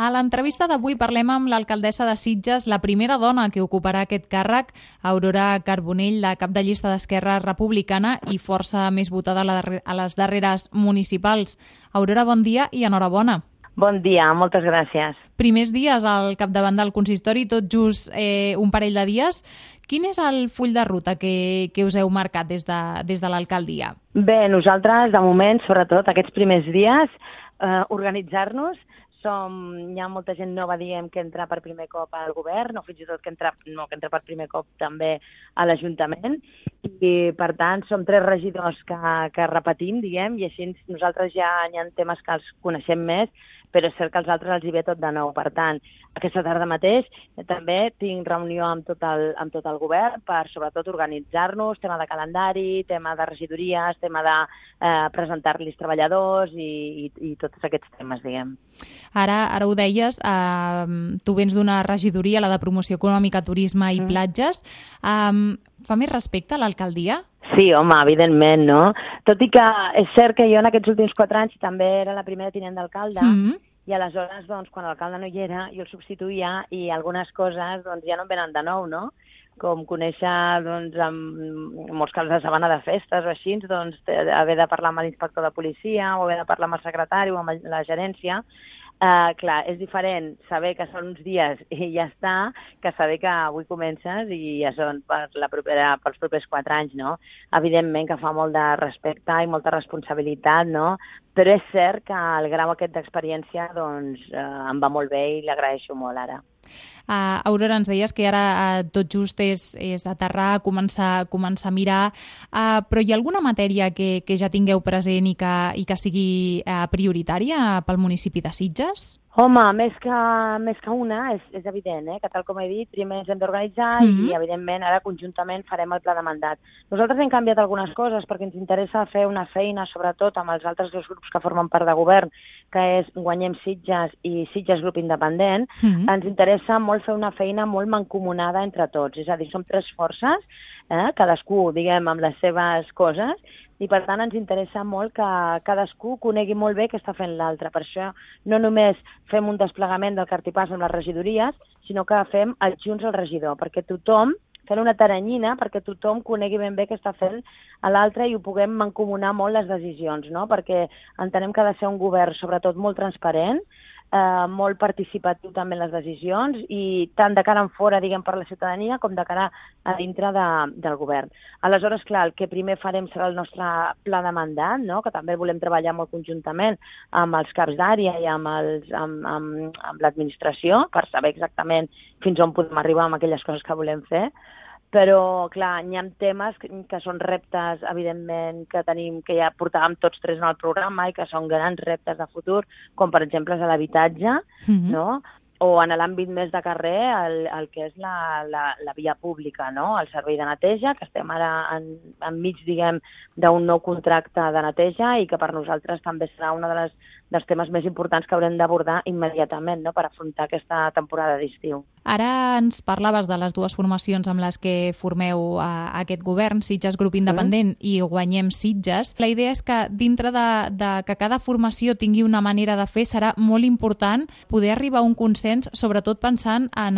A l'entrevista d'avui parlem amb l'alcaldessa de Sitges, la primera dona que ocuparà aquest càrrec, Aurora Carbonell, la cap de llista d'Esquerra Republicana i força més votada a les darreres municipals. Aurora, bon dia i enhorabona. Bon dia, moltes gràcies. Primers dies al capdavant del consistori, tot just un parell de dies. Quin és el full de ruta que us heu marcat des de l'alcaldia? Bé, nosaltres, de moment, sobretot aquests primers dies, organitzar-nos. Hi ha molta gent nova, diguem, que entra per primer cop al govern, o fins i tot que entra per primer cop també a l'Ajuntament. I, per tant, som 3 regidors que repetim, diguem, i així nosaltres ja hi ha temes que els coneixem més, però és cert que als altres els hi ve tot de nou. Per tant, aquesta tarda mateix també tinc reunió amb tot el govern per, sobretot, organitzar-nos, tema de calendari, tema de regidories, tema de presentar-los treballadors i tots aquests temes, diguem. Ara ho deies, tu vens d'una regidoria, la de Promoció Econòmica, Turisme i Platges. Fa més respecte a l'alcaldia? Sí, home, evidentment, no? Tot i que és cert que jo en aquests últims 4 anys també era la primera tinent d'alcalde, i aleshores, doncs, quan l'alcalde no hi era, jo el substituïa i algunes coses doncs, ja no em venen de nou, no? Com conèixer, doncs, en molts casos, la setmana de festes o així, doncs, haver de parlar amb l'inspector de policia o haver de parlar amb el secretari o amb la gerència. Clar, és diferent saber que són uns dies i ja està, que saber que avui comences i ja són pels propers 4 anys, no? Evidentment que fa molt de respecte i molta responsabilitat, no? Però és cert que el grau aquest d'experiència, doncs, em va molt bé i l'agraeixo molt ara. Aurora, ens deies que ara tot just és aterrar, començar a mirar, però hi ha alguna matèria que ja tingueu present i que sigui prioritària pel municipi de Sitges? Home, més que una, és evident, que tal com he dit, primer ens hem d'organitzar i, evidentment, ara conjuntament farem el pla de mandat. Nosaltres hem canviat algunes coses perquè ens interessa fer una feina, sobretot amb els altres 2 grups que formen part de govern, que és Guanyem Sitges i Sitges Grup Independent. Ens interessa molt fer una feina molt mancomunada entre tots, és a dir, som 3 forces, cadascú, diguem, amb les seves coses, i per tant ens interessa molt que cadascú conegui molt bé què està fent l'altre. Per això no només fem un desplegament del cartipàs amb les regidories, sinó que fem adjunts al regidor, perquè tothom, fent una taranyina, perquè tothom conegui ben bé què està fent a l'altre i ho puguem mancomunar molt les decisions, no? Perquè entenem que ha de ser un govern, sobretot, molt transparent, molt participatiu també en les decisions i tant de cara en fora, diguem, per la ciutadania com de cara a dintre del govern. Aleshores, clar, el que primer farem serà el nostre pla de mandat, no? Que també volem treballar molt conjuntament amb els caps d'àrea i amb l'administració per saber exactament fins on podem arribar amb aquelles coses que volem fer. Però, clar, hi ha temes que són reptes, evidentment, que tenim, que ja portàvem tots 3 en el programa i que són grans reptes de futur, com per exemple és l'habitatge, no? O en l'àmbit més de carrer, el que és la via pública, no? El servei de neteja, que estem ara enmig, diguem, d'un nou contracte de neteja i que per nosaltres també serà un dels temes més importants que haurem d'abordar immediatament, no?, per afrontar aquesta temporada d'estiu. Ara ens parlaves de les 2 formacions amb les que formeu aquest govern, Sitges Grup Independent i Guanyem Sitges. La idea és que dintre de que cada formació tingui una manera de fer, serà molt important poder arribar a un consens, sobretot pensant en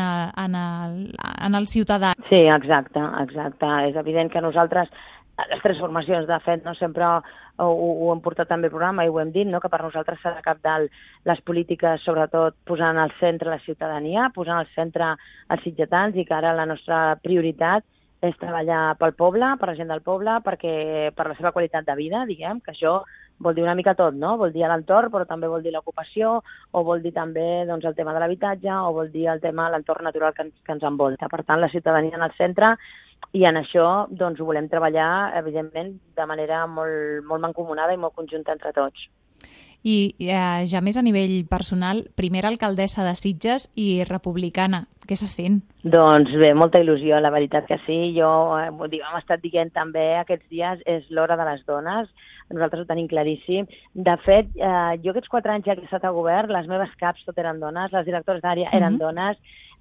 el ciutadà. Sí, exacte. És evident que nosaltres, les 3 formacions, de fet, no sempre ho hem portat també al programa i ho hem dit, no? Que per nosaltres serà cabdal les polítiques, sobretot posant al centre la ciutadania, posant al centre els sitgetans i que ara la nostra prioritat és treballar pel poble, per la gent del poble, per la seva qualitat de vida, diguem, que això vol dir una mica tot, no? Vol dir l'entorn, però també vol dir l'ocupació, o vol dir també, doncs, el tema de l'habitatge, o vol dir el tema de l'entorn natural que ens envolta. Per tant, la ciutadania en el centre, i en això doncs, ho volem treballar, evidentment, de manera molt, molt mancomunada i molt conjunta entre tots. I ja més a nivell personal, primera alcaldessa de Sitges i republicana. Què se sent? Doncs bé, molta il·lusió, la veritat que sí. Jo, hem estat dient també aquests dies, és l'hora de les dones. Nosaltres ho tenim claríssim. De fet, jo aquests 4 anys ja que he estat al govern, les meves caps tot eren dones, les directores d'àrea eren dones,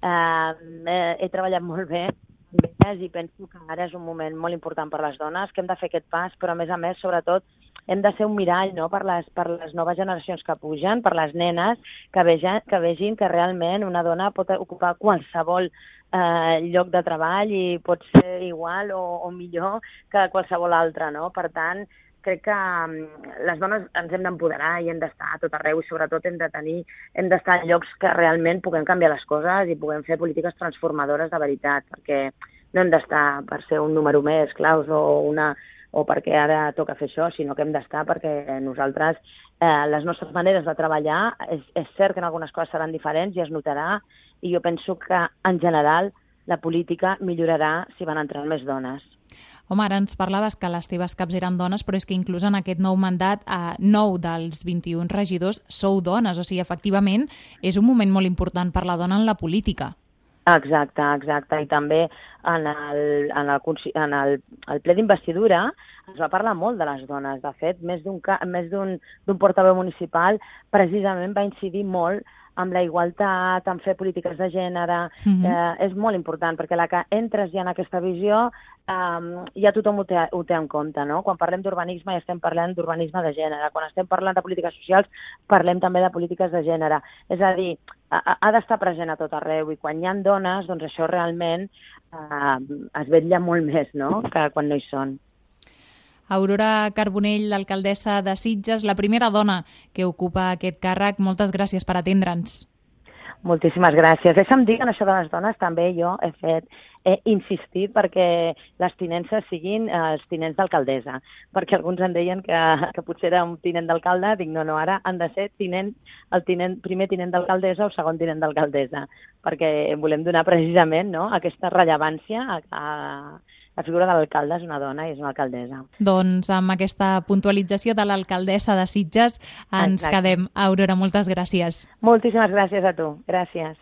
he treballat molt bé i penso que ara és un moment molt important per les dones, que hem de fer aquest pas, però a més, sobretot, hem de ser un mirall, no?, per les noves generacions que pugen, per les nenes, que vegin que realment una dona pot ocupar qualsevol lloc de treball i pot ser igual o millor que qualsevol altre, no? Per tant, crec que les dones ens hem d'empoderar i hem d'estar a tot arreu i sobretot hem d'estar en llocs que realment puguem canviar les coses i puguem fer polítiques transformadores de veritat, perquè no hem d'estar per ser un número més, claus, o perquè ara toca fer això, sinó que hem d'estar perquè nosaltres, les nostres maneres de treballar, és cert que en algunes coses seran diferents i es notarà, i jo penso que en general la política millorarà si van entrant més dones. Home, ara ens parlaves que les teves caps eren dones, però és que inclús en aquest nou mandat, 9 dels 21 regidors sou dones. O sigui, efectivament, és un moment molt important per la dona en la política. Exacte. I també en el ple d'investidura es va parlar molt de les dones. De fet, més d'un portaveu municipal precisament va incidir molt amb la igualtat, en fer polítiques de gènere. És molt important, perquè la que entres ja en aquesta visió ja tothom ho té en compte, no? Quan parlem d'urbanisme ja estem parlant d'urbanisme de gènere. Quan estem parlant de polítiques socials parlem també de polítiques de gènere. És a dir, ha d'estar present a tot arreu i quan hi ha dones, doncs això realment es vetlla molt més, no?, que quan no hi són. Aurora Carbonell, l'alcaldessa de Sitges, la primera dona que ocupa aquest càrrec. Moltes gràcies per atendre'ns. Moltíssimes gràcies. Deixa'm dir que en això de les dones també jo he insistit perquè les tinences siguin els tinents d'alcaldessa, perquè alguns em deien que potser era un tinent d'alcalde. Dic, no, ara han de ser primer tinent d'alcaldessa o segon tinent d'alcaldessa, perquè volem donar precisament, no, aquesta rellevància a la figura de l'alcalde. És una dona i és una alcaldessa. Doncs amb aquesta puntualització de l'alcaldessa de Sitges ens quedem. Aurora, moltes gràcies. Moltíssimes gràcies a tu. Gràcies.